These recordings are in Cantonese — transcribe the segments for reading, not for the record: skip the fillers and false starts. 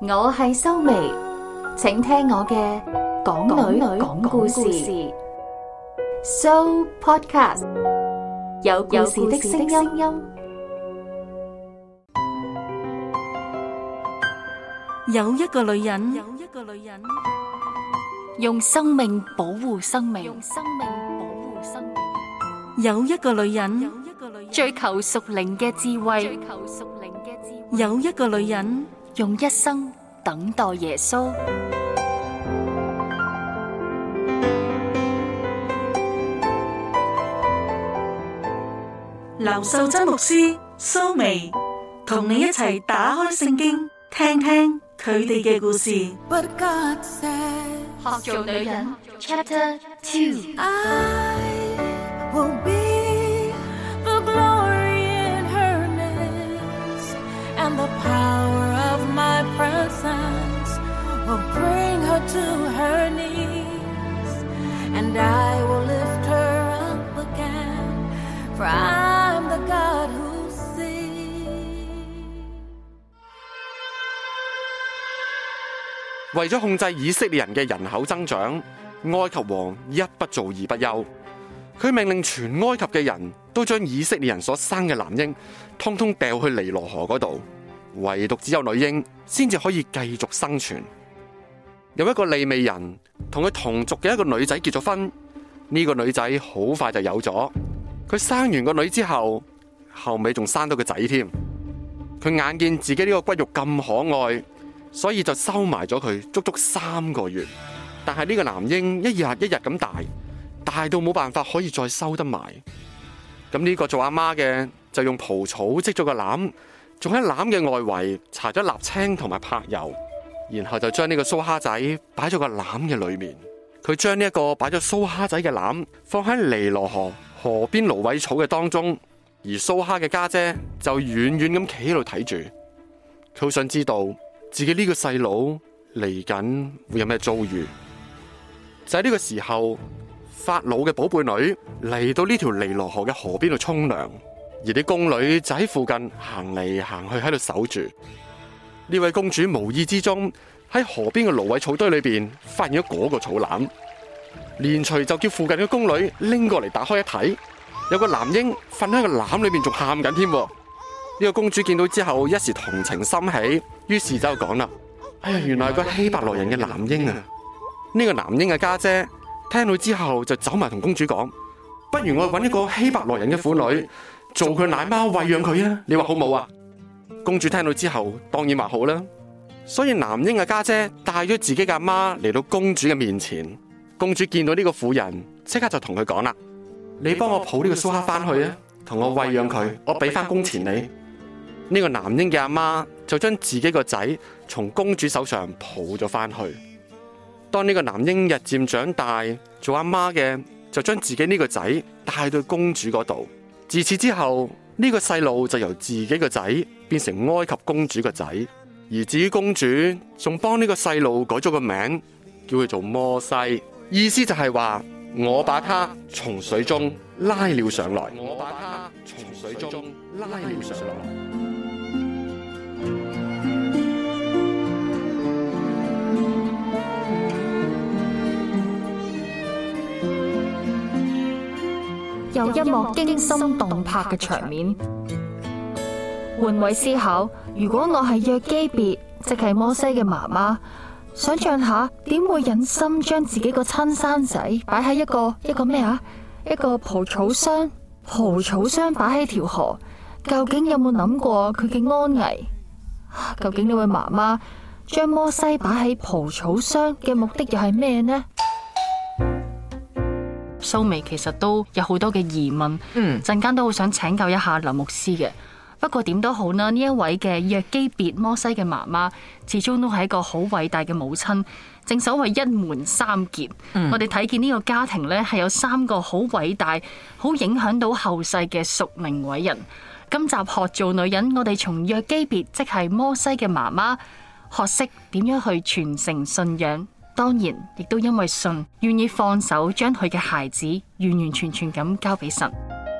我係蘇眉，請聽我嘅港女講故事So Podcast， 有故事的聲音。 有一個女人， 用生命保護生命， 有一個女人， 追求屬靈嘅智慧， 有一個女人， 用一生等待耶穌。 劉秀珍牧師蘇眉同你一齊打開聖經，聽聽佢哋嘅故事。 學做女人 Chapter 2。 The power of my presence will bring her to her knees, and I will lift her up again, for I'm the God who sees. 為咗控制以色列人嘅人口增長，埃及王一不做二不休，佢命令全埃及嘅人都將以色列人所生嘅男嬰通通掉去尼羅河嗰度。唯獨只有女嬰先至可以繼續生存。有一個利未人同佢同族嘅一個女仔結咗婚，呢個女仔好快就有咗。佢生完個女之後，後尾仲生到個仔添。佢眼見自己呢個骨肉咁可愛，所以就收埋咗佢足足3個月。但係呢個男嬰一日一日咁大，大到冇辦法可以再收得埋。咁呢個做阿媽嘅就用蒲草織咗個籃，仲喺籃嘅外圍搽咗瀝青同埋柏油，然後就將呢個蘇蝦仔擺咗個籃嘅裏面。佢將呢一個擺咗蘇蝦仔嘅籃放喺尼羅河河邊蘆葦草嘅當中，而蘇蝦嘅家姐就遠遠咁企喺度睇住。佢好想知道自己呢個細佬嚟緊會有咩遭遇。就喺呢個時候，法老嘅寶貝女嚟到呢條尼羅河嘅河邊度沖涼。而啲宮女就喺附近行嚟行去喺度守住。呢位公主無意之中喺河邊嘅蘆葦草堆裏邊發現咗嗰個草籃，連隨就叫附近嘅宮女拎過嚟打開一睇，有個男嬰瞓喺個籃裏邊仲喊緊添。呢個公主見到之後一時同情心起，於是就講啦：哎呀，原來係個希伯來人嘅男嬰啊！呢個男嬰嘅家姐聽到之後就走埋同公主講：不如我揾一個希伯來人嘅婦女做佢奶媽餵養佢啊！你話好冇啊？公主聽到之後當然話好啦，所以男嬰嘅家姐帶咗自己嘅阿媽嚟到公主嘅面前。公主見到呢個婦人，即刻就同佢講啦：你幫我抱呢個蘇蝦翻去啊，同我餵養佢，我俾翻工錢你。呢個男嬰嘅阿媽就將自己個仔從公主手上抱咗翻去。當呢個男嬰日漸長大，做阿媽嘅就將自己呢個仔帶到公主嗰度。自此之後，呢個細路就由自己個仔變成埃及公主個仔，而至於公主仲幫呢個細路改咗個名，叫佢做摩西，意思就係話我把他從水中拉了上來。我把他從水中拉了上來。 有一幕驚心動魄嘅場面，換位思考，如果我係約基別，即係摩西嘅媽媽，想象下點會忍心將自己個親生仔擺喺一個咩啊？一個蒲草箱擺喺條河，究竟有冇諗過佢嘅安危？究竟呢位媽媽將摩西擺喺蒲草箱嘅目的又係咩呢？ 蘇眉其實都有好多嘅疑問，陣間都好想請教一下劉牧師嘅。不過點都好啦，呢一位嘅約基別摩西嘅媽媽，始終都係一個好偉大嘅母親。正所謂一門三傑，我哋睇見呢個家庭呢，係有3個好偉大、好影響到後世嘅屬靈偉人。今集學做女人，我哋從約基別即係摩西嘅媽媽學識點樣去傳承信仰。當然，亦都因為信，願意放手將佢嘅孩子完完全全咁交俾神。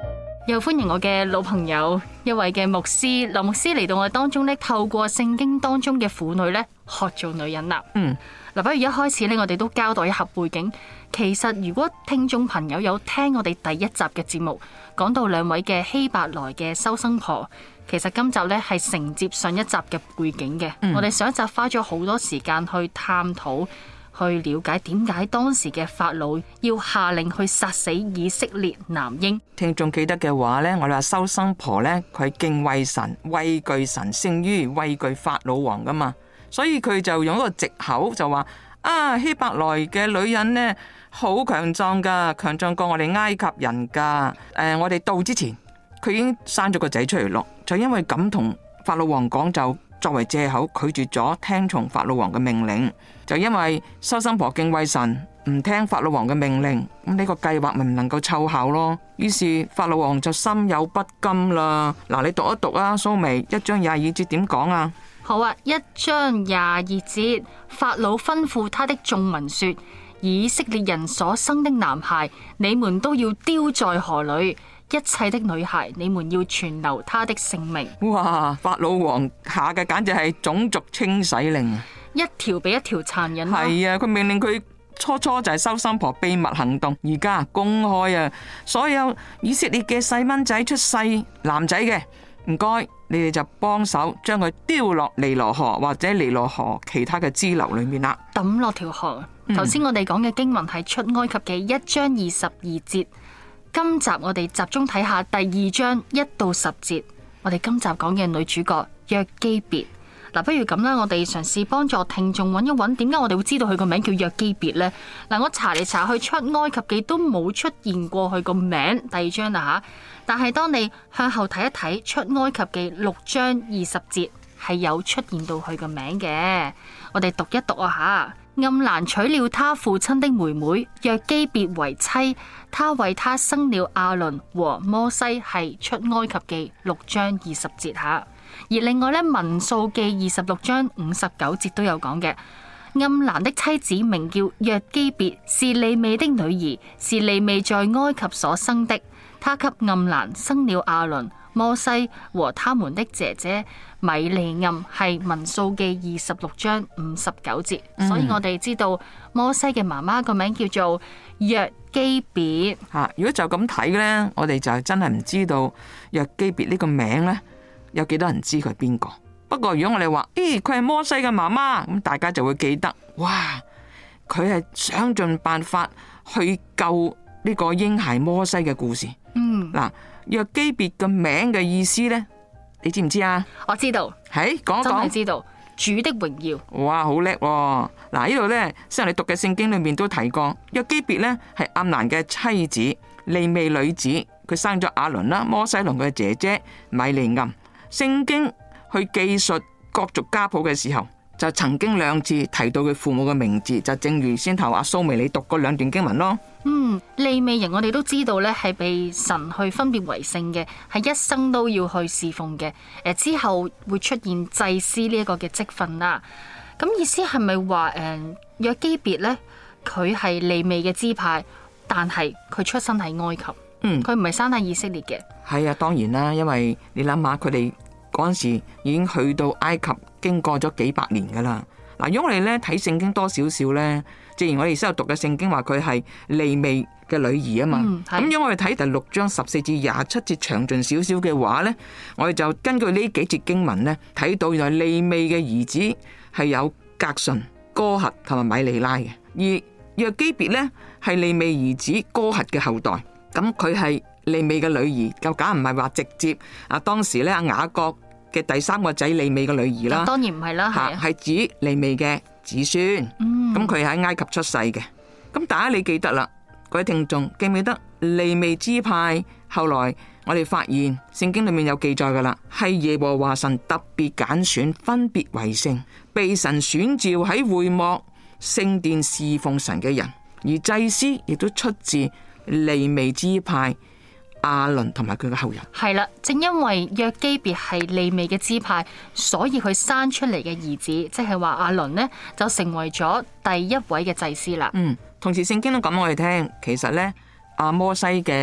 又歡迎我嘅老朋友，一位嘅牧師劉牧師嚟到我哋當中咧，透過聖經當中嘅婦女咧，學做女人啦。嗱，不如一開始咧，我哋都交代一下背景。其實如果聽眾朋友有聽我哋第一集嘅節目，講到兩位嘅希伯來嘅收生婆，其實今集咧係承接上一集嘅背景嘅。我哋上一集花咗好多時間去探討，去了解點解當時嘅法老要下令去殺死以色列男嬰。 聽眾記得嘅話呢，我哋話收生婆呢，佢敬畏神、畏懼神，勝於畏懼法老王噶嘛，所以佢就用一個藉口就話希伯來嘅女人呢，好強壯噶，強壯過我哋埃及人噶。我哋到之前佢已經生咗個仔出嚟咯，就因為咁同法老王講，就作為借口拒絕咗聽從法老王嘅命令。就因為收生婆敬畏神，唔聽法老王嘅命令，咁呢個計劃咪唔能夠奏效咯。於是法老王就心有不甘啦。嗱，你讀一讀啊，蘇眉1章22節點講啊？ 好啊，1章22節，法老吩咐他的眾民說：以色列人所生的男孩，你們都要丟在河裏；一切的女孩，你們要存留他的性命。 哇！法老王下嘅簡直係種族清洗令啊！ 一條比一條殘忍。 係啊，佢命令佢初就係收生婆秘密行動，而家公開啊！所有以色列嘅細蚊仔出世男仔嘅，唔該，你哋就幫手將佢丟落尼羅河或者尼羅河其他嘅支流裏面啦， 抌落條河。頭先我哋講嘅經文係出埃及記1章22節，今集我哋集中睇下第2章1到10節。我哋今集講嘅女主角約基別。嗱，不如咁啦，我哋嘗試幫助聽眾揾一揾，點解我哋會知道佢個名叫約基別呢？嗱，我查嚟查去出埃及記都冇出現過佢個名。第2章啦吓，但係當你向後睇一睇，出埃及記6章20節係有出現到佢個名嘅。我哋讀一讀啊吓。暗蘭娶了他父親的妹妹約基別為妻，他為他生了亞倫和摩西，係出埃及記6章20節吓。而另外咧，民數記26章59節都有講嘅。暗蘭的妻子名叫約基別，是利未的女兒，是利未在埃及所生的。他給暗蘭生了亞倫、摩西和他們的姐姐米利暗，係民數記26章59節。所以我哋知道摩西嘅媽媽個名叫做約基別。 如果就咁睇呢，我哋就真係唔知道約基別呢個名呢，有幾多人知佢係邊個？不過如果我哋話，佢係摩西嘅媽媽，咁大家就會記得，哇！佢係想盡辦法去救呢個嬰孩摩西嘅故事。嗱，約基別嘅名嘅意思呢，你知唔知啊？ 我知道， 係講一講， 真係知道主的榮耀。 哇，好叻喎！嗱，呢度呢，先我哋讀嘅聖經裏面都提過，約基別呢係暗蘭嘅妻子，利未女子，佢生咗亞倫啦、摩西同佢嘅姐姐米利暗。聖經去記述各族家譜嘅時候，就曾經2次提到佢父母嘅名字，就正如先頭阿蘇眉你讀嗰2段經文咯。 利未人我哋都知道咧，係被神去分別為聖嘅，係一生都要去侍奉嘅。之後會出現祭司呢一個嘅職分啦。咁意思係咪話約基別咧，佢係利未嘅支派，但係佢出生喺埃及？佢唔係生喺以色列嘅。係啊，當然啦，因為你諗下，佢哋嗰陣時已經去到埃及，經過咗幾百年噶啦。嗱，如果我哋咧睇聖經多少少咧，正如我哋先有讀嘅聖經話佢係利未嘅女兒啊嘛。咁如果我哋睇第6章14至27節詳盡少少嘅話咧，我哋就根據呢幾節經文咧，睇到原來利未嘅兒子係有革順、哥轄同埋米利拉嘅，而約基別咧係利未兒子哥轄嘅後代。咁佢係利未嘅女兒，就梗唔係話直接當時咧雅各嘅第3個仔利未嘅女兒啦。當然唔係啦，係指利未嘅子孫。咁佢喺埃及出世嘅。咁大家你記得啦，各位聽眾記唔記得利未支派？後來我哋發現聖經裏面有記載噶啦，係耶和華神特別揀選，分別為聖，被神選召喺會幕聖殿侍奉神嘅人，而祭司亦都出自利未支派亞倫同埋佢嘅後人。係啦，正因為約基別係利未嘅支派，所以佢生出嚟嘅兒子，即係話亞倫呢，就成為咗第一位嘅祭司啦。同時聖經都講我哋聽，其實呢，阿摩西嘅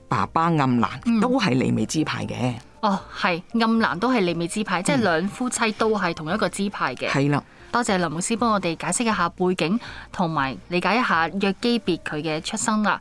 爸爸暗蘭都係利未支派嘅。 哦，係暗蘭都係利未支派，即係兩夫妻都係同一個支派嘅。 係啦， 多謝林牧師幫我哋解釋一下背景，同埋理解一下約基別佢嘅出生啦。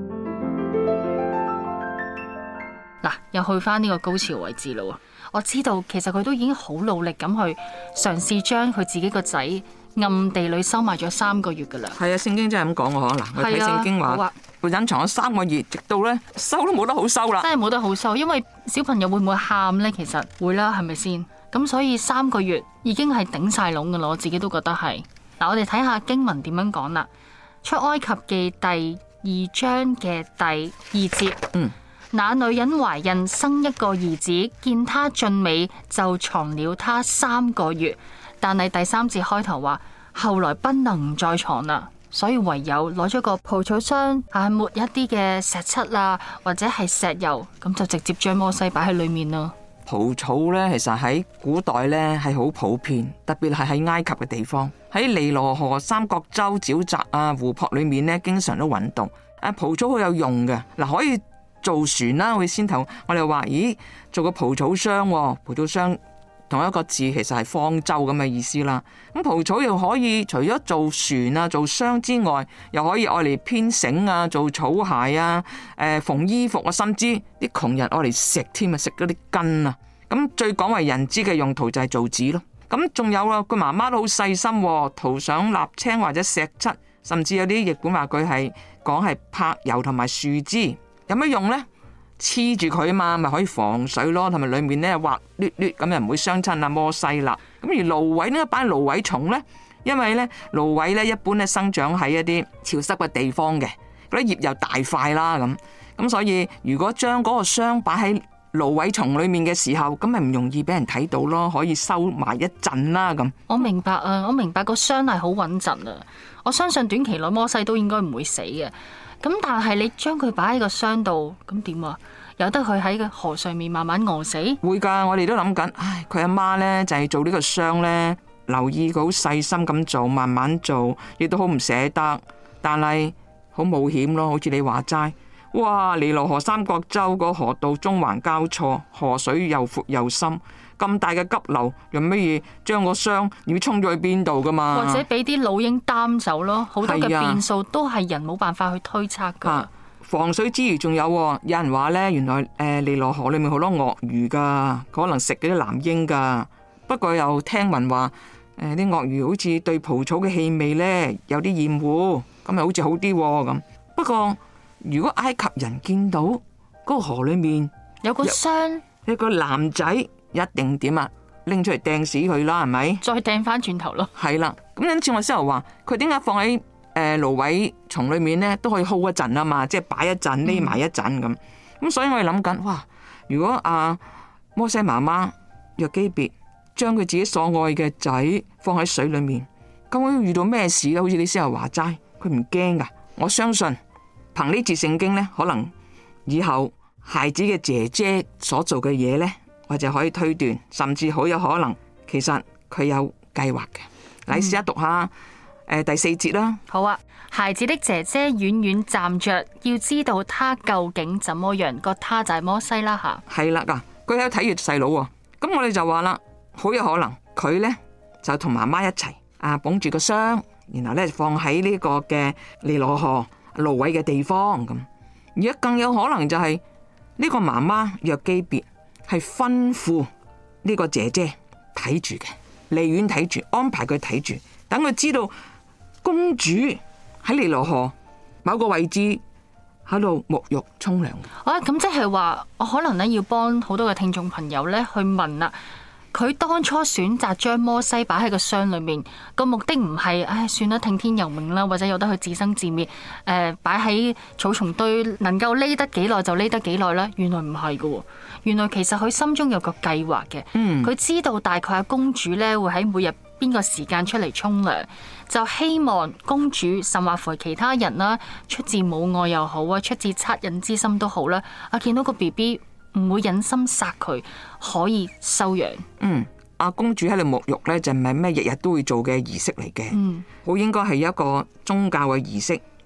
嗱，又去翻呢個高潮位置咯。我知道其實佢都已經好努力咁去嘗試將佢自己個仔暗地裏收埋咗3個月噶啦。 係啊，聖經真係咁講嘅。嗱，我睇聖經話佢隱藏咗3個月，直到咧收都冇得好收啦。 真係冇得好收，因為小朋友會唔會喊呢？其實會啦，係咪先？咁所以3個月已經係頂晒籠噶啦，我自己都覺得係。嗱，我哋睇下經文點樣講啦。出埃及記第2章嘅第2節。那女人懷孕生一個兒子，見他俊美，就藏了他3個月。但係第3節開頭話，後來不能再藏啦，所以唯有攞咗個蒲草箱，抹一啲嘅石漆啊，或者係石油，咁就直接將摩西擺喺裏面啦。 蒲草呢，其實喺古代呢係好普遍，特別係喺埃及嘅地方，喺尼羅河、三角洲、沼澤啊、湖泊裏面呢，經常都揾到。蒲草好有用嘅，嗱，可以做船啦。我哋先頭我哋話，咦，做個蒲草箱，蒲草箱同一個字其實係方舟咁嘅意思啦。咁蒲草又可以除咗做船啊、做箱之外，又可以愛嚟編繩啊、做草鞋啊、縫衣服啊，甚至啲窮人愛嚟食添啊，食嗰啲根啊。咁最廣為人知嘅用途就係做紙咯。咁仲有啊，佢媽媽都好細心，塗上瀝青或者石漆，甚至有啲譯本話佢係講係柏油同埋樹枝。有咩用呢？黐住佢啊嘛，咪可以防水咯，同埋裏面咧滑捋捋咁，又唔會傷親阿摩西啦。咁而蘆葦呢一班蘆葦蟲呢，因為咧蘆葦咧一般咧生長喺一啲潮濕嘅地方嘅，嗰啲葉又大塊啦，咁所以如果將嗰個箱擺喺蘆葦叢裏面嘅時候，咁咪唔容易俾人睇到咯，可以收埋一陣啦咁。 我明白啊，我明白個箱係好穩陣啊，我相信短期內摩西都應該唔會死嘅。咁但係你將佢擺喺個箱度，咁點啊？由得佢喺個河上面慢慢餓死？ 會噶，我哋都諗緊，佢阿媽呢就係做呢個箱呢，留意佢好細心咁做，慢慢做，亦都好唔捨得，但係好冒險咯。好似你話齋，哇！尼羅河三角洲個河道中環交錯，河水又闊又深，咁大嘅急流，用乜嘢將個箱要衝咗去邊度噶嘛？ 或者俾啲老鷹擔走咯，好多嘅變數都係人冇辦法去推測噶。 防水之餘仲有人話呢，原來尼羅河裏面好多鱷魚噶，可能食嗰啲藍鷹噶。不過又聽聞話啲鱷魚好似對蒲草嘅氣味呢有啲厭惡，咁咪好似好啲咁。不過如果埃及人見到嗰個河裏面有個箱， 一個男仔，一定點啊？拎出嚟掟死佢啦，係咪？再掟翻轉頭咯。 係啦，咁因此我先頭話佢點解放喺蘆葦叢裏面咧，都可以 hold 一陣啊嘛，即係擺一陣，匿埋一陣咁。咁所以我哋諗緊，哇！如果摩西媽媽約基別將佢自己所愛嘅仔放喺水裏面，咁會遇到咩事咧？好似你先頭話齋，佢唔驚噶。我相信憑呢節聖經咧，可能以後孩子嘅姐姐所做嘅嘢咧，我就可以推斷，甚至好有可能，其實佢有計劃嘅。你試下讀下。第4節啦。好啊， 孩子的姐姐遠遠站着，要知道他究竟怎麼樣。個他就係摩西啦吓。 係啦，佢喺度睇住細佬喎。咁我哋就話啦，好有可能佢呢就同媽媽一齊捧住個箱，然後呢放喺呢個嘅尼羅河蘆葦嘅地方咁。而家更有可能就係呢個媽媽約基別係吩咐呢個姐姐睇住嘅，離遠睇住，安排佢睇住，等佢知道公主喺尼羅河某個位置喺度沐浴沖涼。 咁即係話，我可能咧要幫好多嘅聽眾朋友咧去問啦。佢當初選擇將摩西擺喺個箱裏面，個目的唔係，算啦，聽天由命啦，或者由得佢自生自滅。擺喺草叢堆，能夠匿得幾耐就匿得幾耐啦。原來唔係噶，原來其實佢心中有個計劃嘅。佢知道大概公主咧會喺每日邊個時間出嚟沖涼，就希望公主甚或乎其他人啦，出自母愛又好啊，出自惻隱之心都好啦。見到個 BB 唔會忍心殺佢，可以收養。 公主喺度沐浴咧，就唔係咩日日都會做嘅儀式嚟嘅。好應該係一個宗教嘅儀式，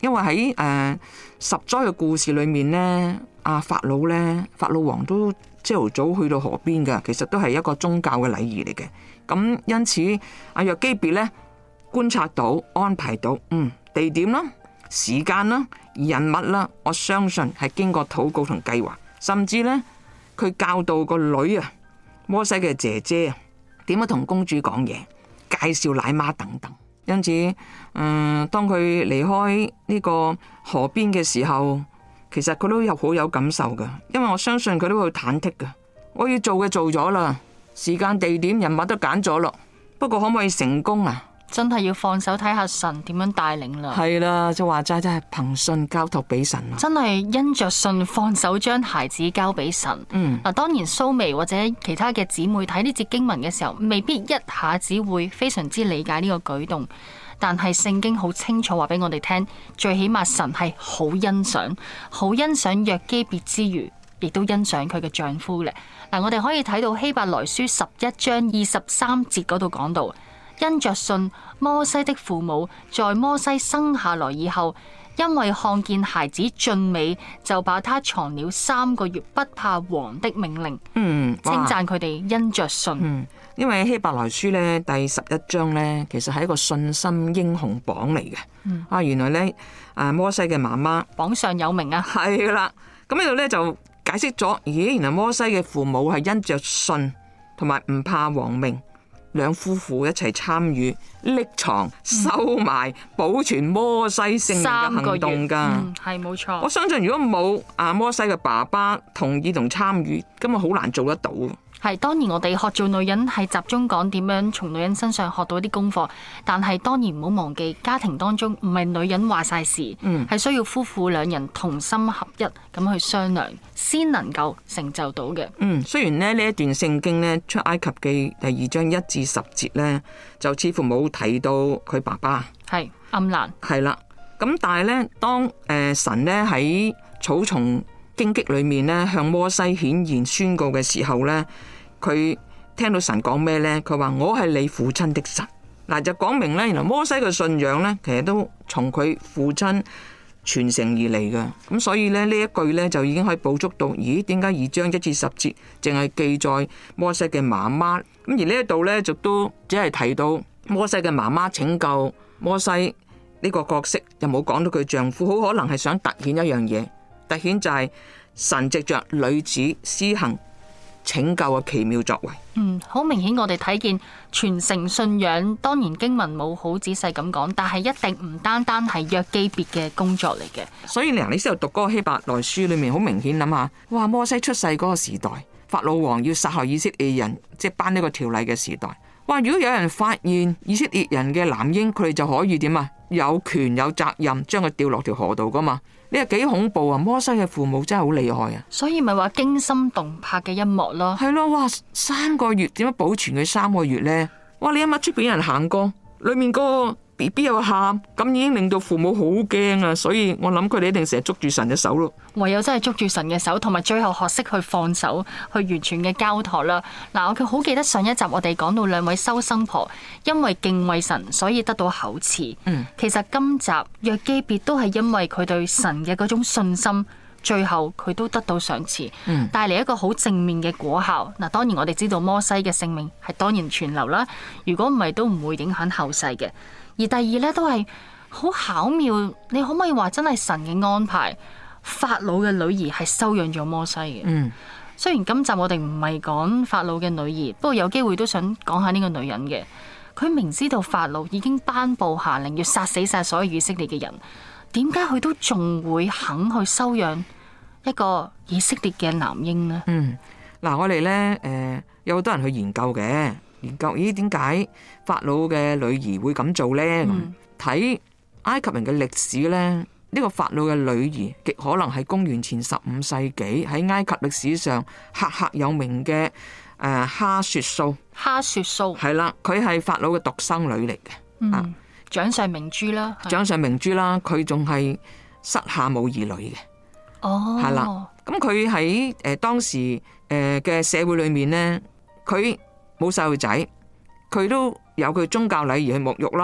因為喺十災嘅故事裏面呢，法老王都朝頭早去到河邊嘅，其實都係一個宗教嘅禮儀嚟嘅。咁因此約基別呢觀察到、安排到，地點啦、時間啦、人物啦，我相信係經過禱告同計劃，甚至呢，佢教導個女摩西嘅姐姐點樣同公主講嘢，介紹奶媽等等。因此，當佢離開呢個河邊嘅時候，其實佢都好有感受噶，因為我相信佢都會忐忑噶。我要做嘅做咗啦，時間、地點、人物都揀咗咯，不過可唔可以成功啊？ 真係要放手睇下神點樣帶領啦。 係啦，就話齋真係憑信交託俾神啦。 真係因着信放手將孩子交俾神。嗱，當然蘇眉或者其他嘅姊妹睇呢節經文嘅時候，未必一下子會非常之理解呢個舉動，但係聖經好清楚話俾我哋聽，最起碼神係好欣賞約基別之餘，亦都欣賞佢嘅丈夫咧。嗱，我哋可以睇到希伯來書11章23節嗰度講到。因着信，摩西的父母在摩西生下來以後，因為看見孩子俊美，就把他藏了3個月，不怕王的命令。稱讚佢哋因着信。 因為希伯來書咧第11章咧，其實係一個信心英雄榜嚟嘅。原來咧摩西嘅媽媽榜上有名啊。 係啦，咁呢度咧就解釋咗，原來摩西嘅父母係因着信同埋唔怕王命。兩夫婦一齊參與匿藏、收埋、保存摩西性命嘅行動噶， 係冇錯。 我相信如果冇摩西嘅爸爸同意同參與，根本好難做得到。 係，當然我哋學做女人係集中講點樣從女人身上學到一啲功課，但係當然唔好忘記家庭當中唔係女人話晒事，係需要夫婦兩人同心合一咁去商量，先能夠成就到嘅。 雖然呢一段聖經呢，出埃及記第2章1至10節呢，就似乎冇提到佢爸爸係暗蘭， 係啦。咁但係呢，當神呢喺草叢荊棘裏面呢，向摩西顯現宣告嘅時候呢，佢聽到神講咩呢？佢話我係你父親的神。嗱，就講明呢，原來摩西嘅信仰呢，其實都從佢父親傳承而嚟嘅。咁所以呢，呢一句呢，就已經可以捕捉到，咦？點解2章1至10節淨係記載摩西嘅媽媽？咁而呢一度呢，就都只係提到摩西嘅媽媽拯救摩西呢個角色，又冇講到佢丈夫，好可能係想突顯一樣嘢。突顯就係神藉着女子施行拯救嘅奇妙作為。 好明顯我哋睇見傳承信仰，當然經文冇好仔細咁講，但係一定唔單單係約基別嘅工作嚟嘅。 所以你先度讀嗰個希伯來書裏面，好明顯諗下，哇！摩西出世嗰個時代，法老王要殺害以色列人，即係頒呢個條例嘅時代。哇！如果有人發現以色列人嘅男嬰，佢哋就可以點啊？有權有責任將佢掉落條河度噶嘛？呢個幾恐怖啊！摩西嘅父母真係好厲害啊！ 所以咪話驚心動魄嘅一幕咯。 係咯，哇！3個月點樣保存佢3個月呢？哇！你一乜出邊有人行過，裏面個 BB 又喊，咁已經令到父母好驚啊！所以我諗佢哋一定成日捉住神嘅手咯。 唯有真係捉住神嘅手，同埋最後學識去放手，去完全嘅交託啦。嗱，我好記得上一集我哋講到2位收生婆，因為敬畏神，所以得到口賜。其實今集約基別都係因為佢對神嘅嗰種信心，最後佢都得到賞賜，帶嚟一個好正面嘅果效。嗱，當然我哋知道摩西嘅性命係當然存留啦，如果唔係都唔會影響後世嘅。而第二呢，都係好巧妙，你可唔可以話真係神嘅安排？法老嘅女兒係收養咗摩西嘅。雖然今集我哋唔係講法老嘅女兒，不過有機會都想講下呢個女人嘅。佢明知道法老已經頒布下令要殺死晒所有以色列嘅人，點解佢都仲會肯去收養一個以色列嘅男嬰呢？ 嗱，我哋呢，有好多人去研究嘅。研究咦，點解法老嘅女兒會咁做呢？睇埃及人嘅歷史呢，呢個法老嘅女兒極可能係公元前15世紀喺埃及歷史上赫赫有名嘅哈雪素。 哈雪素係啦，佢係法老嘅獨生女嚟嘅。 掌上明珠啦， 掌上明珠啦，佢仲係膝下冇兒女嘅。係啦，咁佢喺當時嘅社會裏面呢，佢冇細路仔，佢都有佢宗教禮儀去沐浴啦，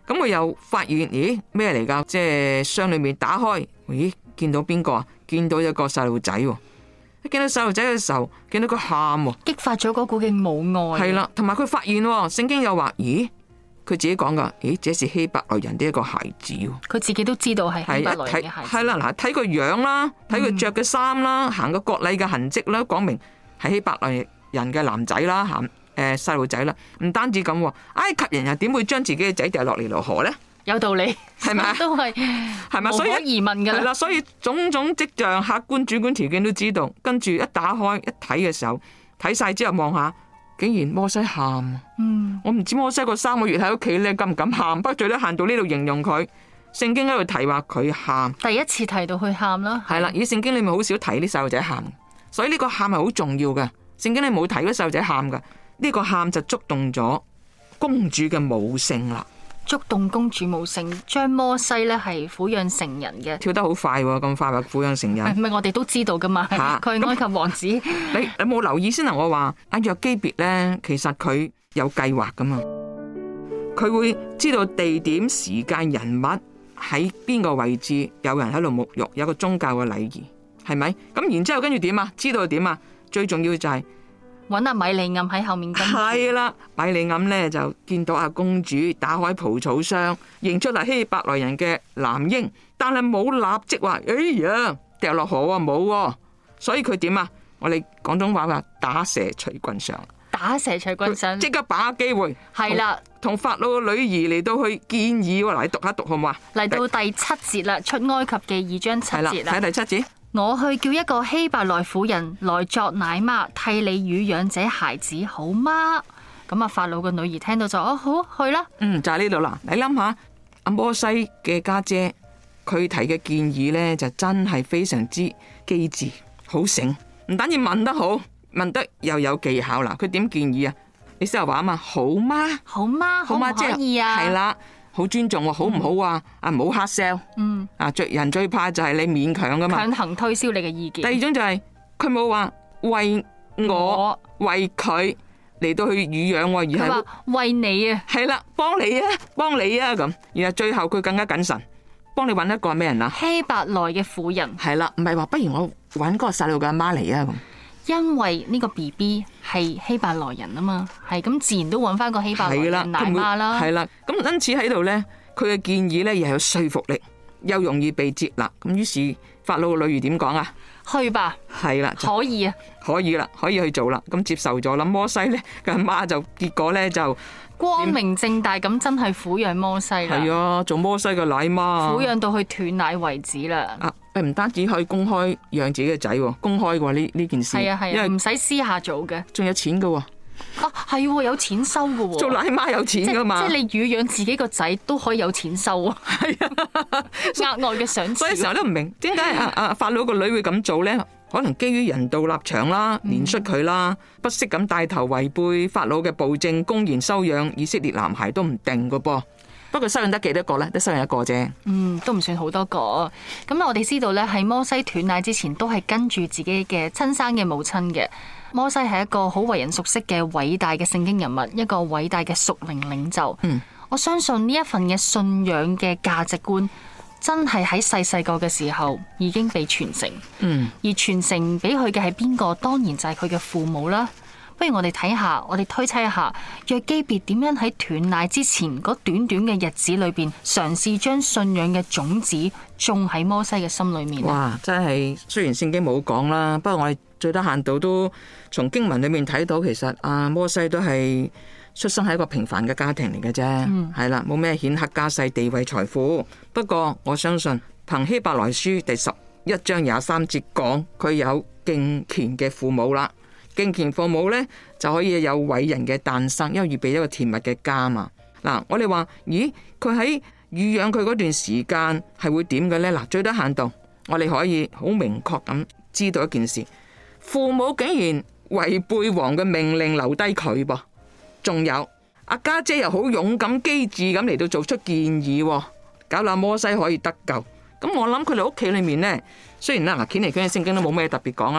咁佢又發現，咦，咩嚟噶？即係箱裏面打開，咦，見到邊個啊？見到一個細路仔喎。一見到細路仔嘅時候，見到佢喊喎， 激發咗嗰股嘅母愛。 係啦，同埋佢發現聖經又話，咦，佢自己講噶，咦，這是希伯來人的一個孩子。 佢自己都知道係希伯來人嘅孩子。 係啦，嗱，睇佢樣啦，睇佢着嘅衫啦，行個割禮嘅痕跡啦，講明係希伯來人嘅男仔啦，細路仔啦。唔單止咁，埃及人又點會將自己嘅仔掉落尼羅河呢？ 有道理， 係咪？ 都係咪？ 無可疑問噶啦。 係啦，所以種種跡象、客觀主觀條件都知道。跟住一打開一睇嘅時候，睇晒之後望下，竟然摩西喊。我唔知摩西個3個月喺屋企咧，敢唔敢喊？不過最多行到呢度形容佢。聖經喺度提話佢喊， 第一次提到佢喊啦。 係啦，而聖經裏面好少提啲細路仔喊，所以呢個喊係好重要嘅。聖經你冇提嗰細路仔喊噶，呢個喊就觸動咗公主嘅母性啦。 觸動公主母性，將摩西咧係撫養成人嘅， 跳得好快喎，咁快話撫養成人， 係咪我哋都知道噶嘛？佢係埃及王子。 你有冇留意先啊？我話阿約基別咧，其實佢有計劃噶嘛，佢會知道地點、時間、人物喺邊個位置，有人喺度沐浴，有個宗教嘅禮儀，係咪？咁然之後跟住點啊？知道點啊？最重要就係揾阿米利暗喺後面跟住。 係啦，米利暗咧就見到阿公主打開蒲草箱，認出係希伯來人嘅男嬰，但係冇立即話，哎呀掉落河啊，冇喎。所以佢點啊？我哋廣東話話打蛇隨棍上， 打蛇隨棍上， 即刻把握機會。 係啦， 同法老嘅女兒嚟到去建議喎，嗱，你讀下讀好唔好啊？嚟到第7節啦，出埃及記2章7節啦， 睇第7節。 我去叫一個希伯來婦人來作奶媽，替你乳養這孩子，好嗎？咁啊，法老嘅女兒聽到就好去啦。 就係呢度啦。你諗下，阿摩西嘅家姐，佢提嘅建議呢，就真係非常之機智，好醒。唔單止問得好，問得又有技巧啦。佢點建議啊？你先話啊嘛，好嗎？ 好嗎？可唔可以啊？ 係啦。好尊重喎，好唔好啊？唔好 hard sell。人最怕就係你勉強噶嘛， 強行推銷你嘅意見。 第二種就係佢冇話為我為佢嚟到去乳養，而係話為你啊， 係啦，幫你啊咁。然後最後佢更加謹慎，幫你揾一個係咩人啊？ 希伯來嘅婦人。係啦，唔係話不如我揾嗰個細路嘅阿媽嚟啊咁。 因為呢個 BB 係希伯來人啊嘛，係咁自然都揾翻個希伯來人奶媽啦。 係啦，咁因此喺度呢，佢嘅建議呢又有說服力，又容易被接納。咁於是法老嘅女兒點講啊？ 去吧。係啦，可以啊， 可以啦，可以去做啦。咁接受咗啦。摩西呢嘅阿媽就結果呢就光明正大咁真係撫養摩西啦。 係啊，做摩西嘅奶媽， 撫養到佢斷奶為止啦。 唔單止可以公開養自己嘅仔，公開嘅呢件事。 係啊，因為唔使私下做嘅， 仲有錢嘅。 係有錢收嘅。做奶媽有錢噶嘛？ 即係你乳養自己個仔都可以有錢收啊。係啊，額外嘅賞賜。 所以成日都唔明點解法老個女會咁做咧？可能基於人道立場啦，憐恤佢啦，不惜咁帶頭違背法老嘅暴政，公然收養以色列男孩都唔定嘅噃。不過收養得幾多個咧？都收養一個啫。都唔算好多個。咁我哋知道咧，喺摩西斷奶之前，都係跟住自己嘅親生嘅母親嘅。摩西係一個好為人熟悉嘅偉大嘅聖經人物，一個偉大嘅屬靈領袖。我相信呢一份嘅信仰嘅價值觀，真係喺細個嘅時候已經被傳承。而傳承俾佢嘅係邊個？當然就係佢嘅父母啦。不如我哋睇下，我哋推測一下，約基別點樣喺斷奶之前嗰短短嘅日子裏邊，嘗試將信仰嘅種子種喺摩西嘅心裏面。哇！真係，雖然聖經冇講啦，不過我哋最低限度都從經文裏面睇到，其實摩西都係出生喺一個平凡嘅家庭嚟嘅啫。係啦，冇咩顯赫家世、地位、財富。不過我相信憑希伯來書第11章23節講，佢有敬虔嘅父母啦。敬虔父母呢，就可以有偉人嘅誕生，因為預備一個甜蜜嘅家嘛。嗱，我哋話，咦，佢喺乳養佢嗰段時間係會點嘅呢？嗱，最低限度，我哋可以好明確咁知道一件事，父母竟然違背王嘅命令留低佢噃。仲有阿家姐又好勇敢機智咁嚟到做出建議，搞到摩西可以得救。咁我諗佢哋屋企裏面呢，雖然啦，嗱，卷嚟卷去聖經都冇咩特別講啊。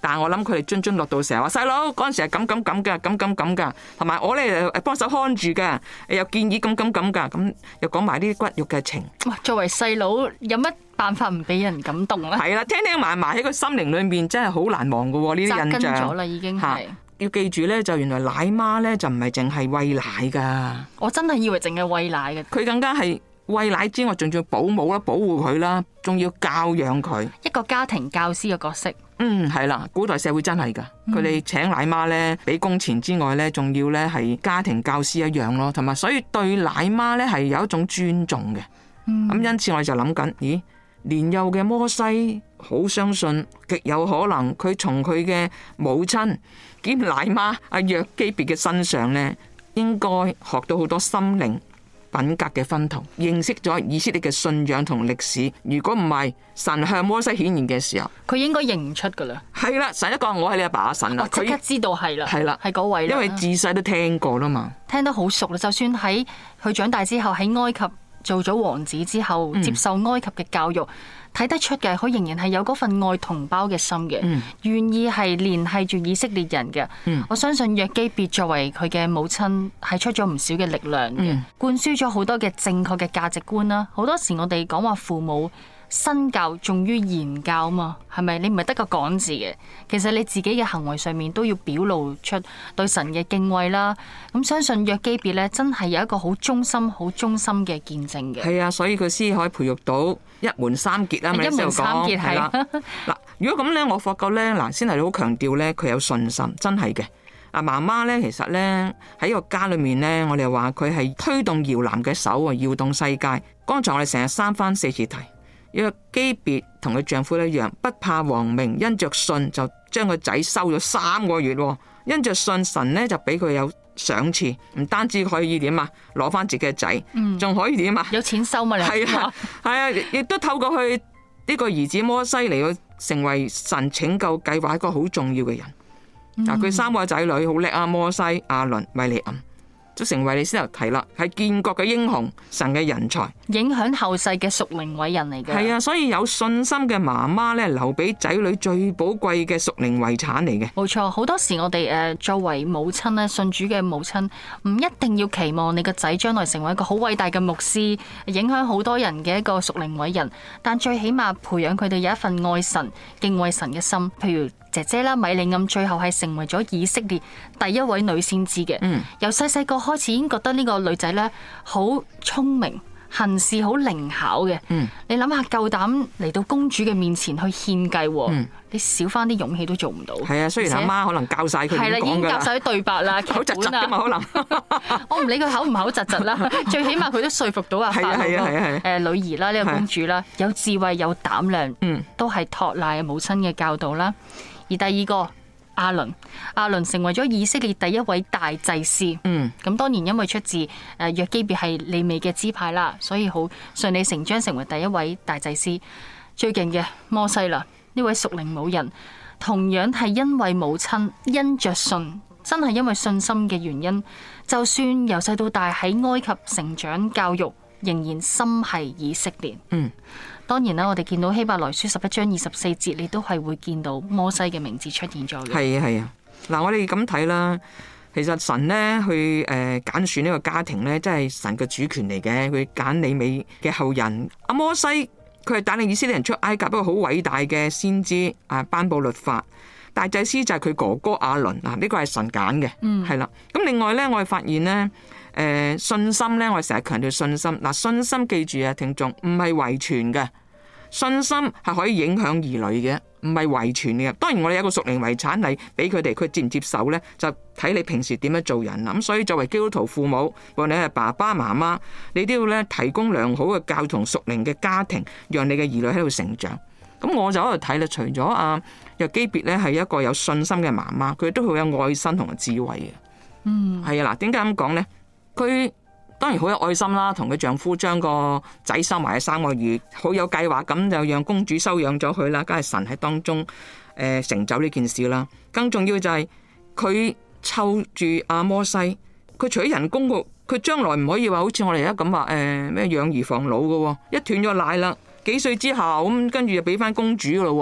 但係我諗佢哋津津樂道成日話細佬嗰陣時係咁噶，同埋我咧幫手看住噶，又建議咁噶，咁又講埋呢啲骨肉嘅情。 哇！作為細佬有乜辦法唔俾人感動咧？ 係啦，聽埋喺個心靈裏面真係好難忘噶喎，呢啲印象。 扎根咗啦，已經係。 要記住咧，就原來奶媽咧就唔係淨係餵奶噶。我真係以為淨係餵奶嘅。 佢更加係餵奶之外，仲要保姆啦、保護佢啦，仲要教養佢。 一個家庭教師嘅角色。 係啦，古代社會真係噶，佢哋請奶媽咧，俾工錢之外咧，仲要咧係家庭教師一樣咯，同埋所以對奶媽咧係有一種尊重嘅。因此我哋就諗緊，咦，年幼嘅摩西好相信，極有可能佢從佢嘅母親兼奶媽阿約基別嘅身上咧，應該學到好多心靈品格嘅薰陶，認識咗以色列嘅信仰同歷史。如果唔係神向摩西顯現嘅時候， 佢應該認唔出噶啦。 係啦，神一講我係你阿爸阿神啦， 佢即刻知道係啦，係啦，係嗰位啦。 因為自細都聽過啦嘛， 聽得好熟啦。就算喺佢長大之後喺埃及做咗王子之後，接受埃及嘅教育。睇得出嘅，佢仍然係有嗰份愛同胞嘅心嘅，願意係聯繫住以色列人嘅。我相信約基別作為佢嘅母親，係出咗唔少嘅力量嘅，灌輸咗好多嘅正確嘅價值觀啦。好多時我哋講話父母身教重於言教嘛，係咪？你唔係得個講字嘅，其實你自己嘅行為上面都要表露出對神嘅敬畏啦。咁相信約基別咧，真係有一個好忠心、好忠心嘅見證嘅。 係啊，所以佢先可以培育到一門三傑啦。 一門三傑係啦。 嗱，如果咁咧，我發覺咧，嗱，先係好強調咧，佢有信心，真係嘅。嗱，媽媽咧，其實咧喺個家裏面咧，我哋話佢係推動搖籃嘅手啊，搖動世界。剛才我哋成日三番四次提。約基別同佢丈夫一樣，不怕王命，因着信就將個仔收咗3個月。因着信，神呢就俾佢有賞賜，唔單止可以點啊，攞翻自己嘅仔，仲可以點啊？ 有錢收嘛？你係啊，亦都透過佢呢個兒子摩西嚟到成為神拯救計劃一個好重要嘅人。嗱，佢3個仔女好叻啊，摩西、亞倫、米利暗。就成為你先頭提啦，係建國嘅英雄，神嘅人才， 影響後世嘅屬靈偉人嚟嘅。 係啊，所以有信心嘅媽媽咧，留俾仔女最寶貴嘅屬靈遺產嚟嘅。 冇錯，好多時我哋作為母親咧，信主嘅母親，唔一定要期望你個仔將來成為一個好偉大嘅牧師，影響好多人嘅一個屬靈偉人，但最起碼培養佢哋有一份愛神、敬畏神嘅心。譬如姐姐啦，米利暗最後係成為咗以色列第一位女先知嘅。由細細個開始已經覺得呢個女仔咧好聰明，行事好靈巧嘅。你諗下，夠膽嚟到公主嘅面前去獻計，你少翻啲勇氣都做唔到。 係啊，雖然阿媽可能教晒佢點講㗎啦，係啦，已經教晒啲對白啦， 口窒窒㗎嘛，可能我唔理佢口唔口窒窒啦，最起碼佢都說服到阿法老女兒啦，呢個公主啦，有智慧有膽量，都係托賴母親嘅教導啦。而第二個亞倫成為咗以色列第一位大祭司。咁當然因為出自約基別係利未嘅支派啦，所以好順理成章成為第一位大祭司。最勁嘅摩西啦，呢位屬靈母人，同樣係因為母親因着信，真係因為信心嘅原因，就算由細到大喺埃及成長教育，仍然心繫以色列。當然啦，我哋見到希伯來書11章24節，你都係會見到摩西嘅名字出現咗嘅。 係啊，嗱，我哋咁睇啦，其實神呢去揀選呢個家庭呢，真係神嘅主權嚟嘅。佢揀利未嘅後人，阿摩西佢係帶領以色列人出埃及，一個好偉大嘅先知啊，頒布律法。大祭司就係佢哥哥亞倫，嗱，呢個係神揀嘅，係啦。咁另外呢，我哋發現呢，信心呢，我哋成日強調信心。嗱，信心記住啊，聽眾唔係遺傳嘅，信心係可以影響兒女嘅，唔係遺傳嘅。當然我哋有一個屬靈遺產嚟俾佢哋，佢接唔接受呢，就睇你平時點樣做人。咁所以作為基督徒父母，無論你係爸爸媽媽，你都要咧提供良好嘅教同屬靈嘅家庭，讓你嘅兒女喺度成長。咁我就喺度睇啦，除咗約基別咧係一個有信心嘅媽媽，佢都好有愛心同埋智慧嘅。係啊，嗱，點解咁講呢？佢當然好有愛心啦，同佢丈夫將個仔收埋喺3個月，好有計劃咁就讓公主收養咗佢啦。梗係神喺當中成就呢件事啦。更重要就係佢湊住阿摩西，佢除咗人工佢將來唔可以話好似我哋而家咁話咩養兒防老嘅，一斷咗奶啦，幾歲之後咁跟住就俾翻公主噶咯。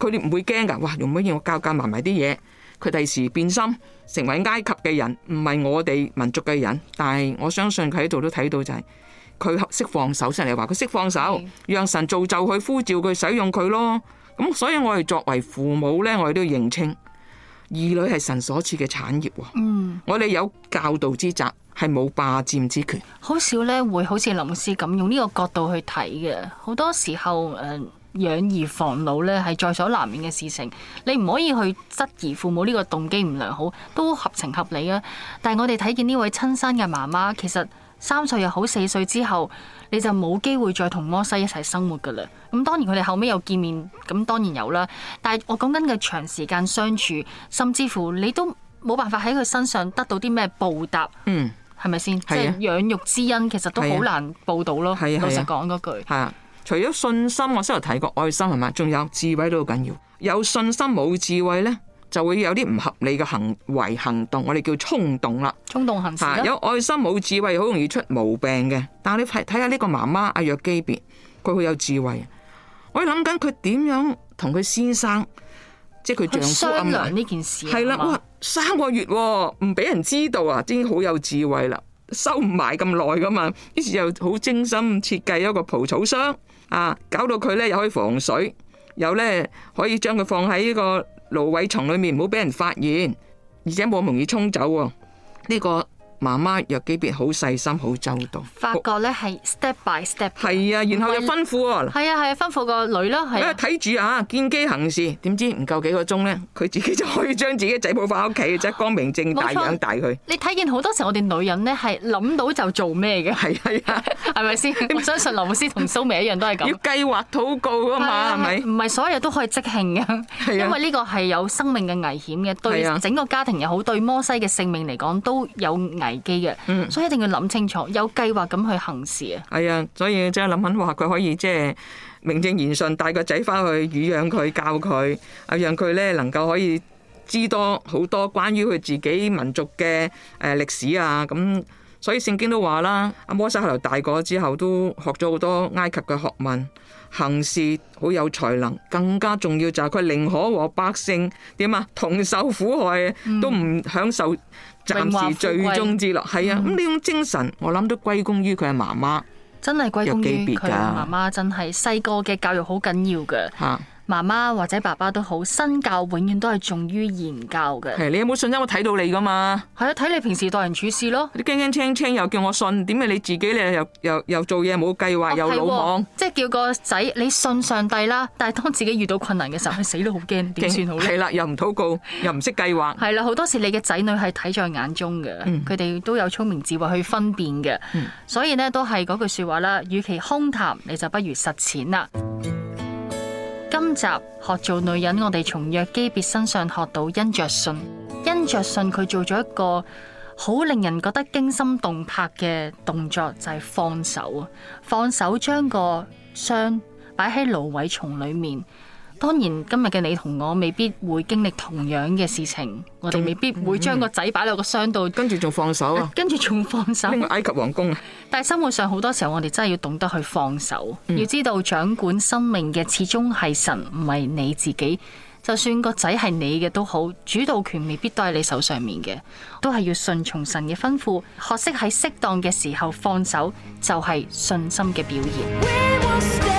佢哋唔會驚㗎。哇，用乜嘢我教埋啲嘢，佢第時變心成為埃及嘅人，唔係我哋民族嘅人。但係我相信佢喺度都睇到就係佢識放手，上嚟話佢識放手，讓神造就佢，呼召佢，使用佢咯。咁所以我哋作為父母呢，我哋都要認清兒女係神所賜嘅產業。我哋有教導之責，係冇霸佔之權。 好少咧會好似林牧師咁用呢個角度去睇嘅。好多時候養兒防老咧係在所難免嘅事情，你唔可以去質疑父母呢個動機唔良好，都合情合理啊。但係我哋睇見呢位親生嘅媽媽，其實3歲又好4歲之後，你就冇機會再同摩西一齊生活噶啦。咁當然佢哋後尾有見面，咁當然有啦。但係我講緊嘅長時間相處，甚至乎你都冇辦法喺佢身上得到啲咩報答，係咪先？即係養育之恩，其實都好難報到咯。老實講嗰句。係啊， 除咗信心，我先頭提過愛心係嘛，仲有智慧都好緊要。有信心冇智慧呢，就會有啲唔合理嘅行為行動，我哋叫衝動啦。 衝動行事啦。 有愛心冇智慧，好容易出毛病嘅。但係你睇下呢個媽媽阿約基別，佢好有智慧。我諗緊佢點樣同佢先生，即係佢丈夫商量呢件事。 係啦，哇，3個月唔俾人知道啊，已經好有智慧啦，收唔埋咁耐噶嘛。於是又好精心設計一個蒲草箱啊，搞到佢咧又可以防水，又咧可以將佢放喺呢個蘆葦叢裏面，唔好俾人發現，而且冇咁容易沖走喎。呢個媽媽約基別好細心，好周到。 發覺咧係 step by step。 係啊，然後又吩咐喎。 係啊，吩咐個女啦。係睇住啊，見機行事。點知唔夠幾個鐘咧，佢自己就可以將自己仔抱翻屋企，即係光明正大養大佢。 你睇見好多時我哋女人咧係諗到就做咩嘅。 係啊， 係咪先？我相信劉牧師同蘇眉一樣都係咁。 要計劃禱告啊嘛，係咪？ 唔係所有都可以即興嘅，因為呢個係有生命嘅危險嘅，對整個家庭又好，對摩西嘅性命嚟講都有危機嘅。所以一定要諗清楚，有計劃咁去行事啊！ 係啊，所以即係諗緊話佢可以即係名正言順帶個仔翻去乳養佢、教佢，讓佢咧能夠可以知多好多關於佢自己民族嘅歷史啊！咁所以聖經都話啦，阿摩西後來大個之後都學咗好多埃及嘅學問，行事好有才能，更加重要就係佢寧可和百姓點啊同受苦害，都唔享受暫時最終之樂。係啊，咁呢種精神我諗都歸功於佢嘅媽媽， 真係歸功於佢媽媽，真係細個嘅教育好緊要嘅。媽媽或者爸爸都好，身教永遠都係重於言教嘅。 係，你有冇信心？我睇到你噶嘛？ 係啊，睇你平時待人處事咯。 你驚驚青青又叫我信，點解你自己咧又做嘢冇計劃，又魯莽？ 即係叫個仔你信上帝啦，但係當自己遇到困難嘅時候，佢死都好驚，點算好咧？ 係啦，又唔禱告，又唔識計劃。 係啦，好多時你嘅仔女係睇在眼中嘅，佢哋都有聰明智慧去分辨嘅。所以呢，都係嗰句說話啦，與其空談，你就不如實踐啦。今集學做女人，我哋從約基別身上學到因着信佢做咗一個好令人覺得驚心動魄嘅動作，就係放手將個箱擺喺蘆葦叢裏面。當然今日嘅你同我未必會經歷同樣嘅事情，我哋未必會將個仔擺落個箱度， 跟住仲放手啊！ 跟住仲放手， 拎去埃及皇宮。 但係生活上好多時候，我哋真係要懂得去放手，要知道掌管生命嘅始終係神，唔係你自己。就算個仔係你嘅都好，主導權未必都喺你手上面嘅，都係要順從神嘅吩咐，學識喺適當嘅時候放手，就係信心嘅表現。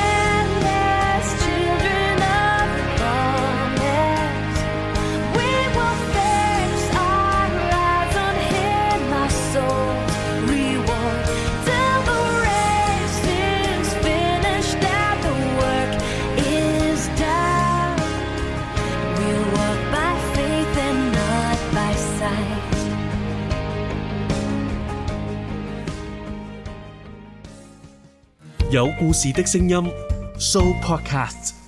有故事的聲音 Show Podcast。